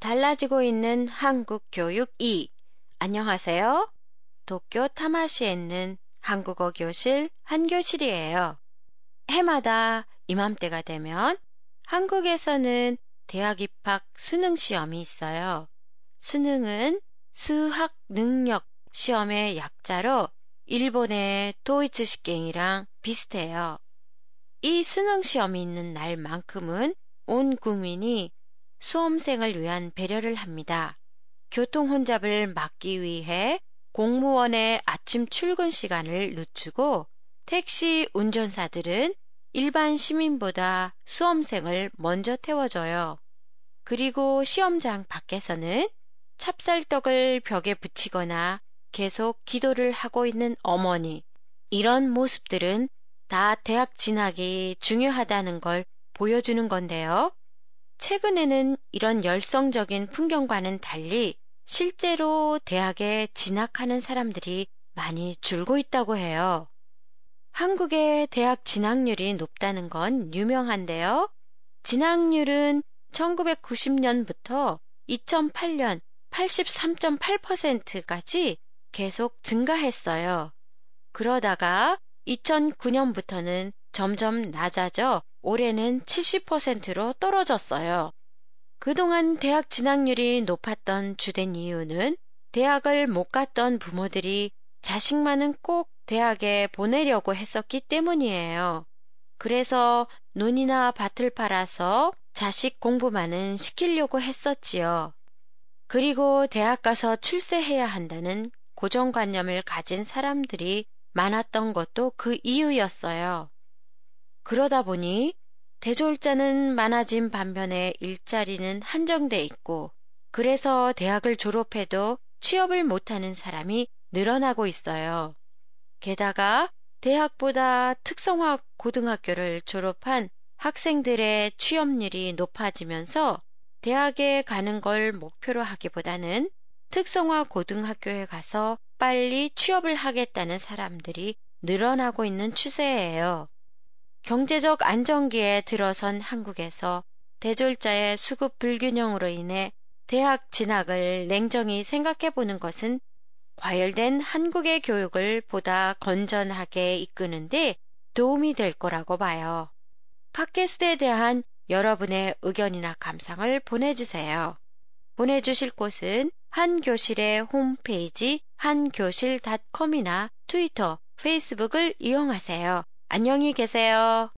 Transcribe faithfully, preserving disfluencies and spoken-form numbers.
달라지고 있는 한국 교육 이. 안녕하세요. 도쿄 타마시에 있는 한국어 교실 한교실이에요. 해마다 이맘때가 되면 한국에서는 대학 입학 수능 시험이 있어요. 수능은 수학 능력 시험의 약자로 일본의 도이치 시경이랑 비슷해요. 이 수능 시험이 있는 날만큼은 온 국민이 수험생을 위한 배려를 합니다. 교통 혼잡을 막기 위해 공무원의 아침 출근 시간을 늦추고 택시 운전사들은 일반 시민보다 수험생을 먼저 태워줘요. 그리고 시험장 밖에서는 찹쌀떡을 벽에 붙이거나 계속 기도를 하고 있는 어머니, 이런 모습들은 다 대학 진학이 중요하다는 걸 보여주는 건데요. 최근에는 이런 열성적인 풍경과는 달리 실제로 대학에 진학하는 사람들이 많이 줄고 있다고 해요. 한국의 대학 진학률이 높다는 건 유명한데요. 진학률은 천구백구십 년부터 이천팔 년 팔십삼 점 팔 퍼센트까지 계속 증가했어요. 그러다가 이천구 년부터는 점점 낮아져 올해는 칠십 퍼센트로 떨어졌어요. 그동안 대학 진학률이 높았던 주된 이유는 대학을 못 갔던 부모들이 자식만은 꼭 대학에 보내려고 했었기 때문이에요. 그래서 논이나 밭을 팔아서 자식 공부만은 시키려고 했었지요. 그리고 대학 가서 출세해야 한다는 고정관념을 가진 사람들이 많았던 것도 그 이유였어요. 그러다 보니 대졸자는 많아진 반면에 일자리는 한정돼 있고, 그래서 대학을 졸업해도 취업을 못하는 사람이 늘어나고 있어요. 게다가 대학보다 특성화 고등학교를 졸업한 학생들의 취업률이 높아지면서 대학에 가는 걸 목표로 하기보다는 특성화 고등학교에 가서 빨리 취업을 하겠다는 사람들이 늘어나고 있는 추세예요. 경제적 안정기에 들어선 한국에서 대졸자의 수급 불균형으로 인해 대학 진학을 냉정히 생각해 보는 것은 과열된 한국의 교육을 보다 건전하게 이끄는데 도움이 될 거라고 봐요. 팟캐스트에 대한 여러분의 의견이나 감상을 보내주세요. 보내주실 곳은 한교실의 홈페이지 한교실 닷컴이나 트위터, 페이스북을 이용하세요. 안녕히 계세요.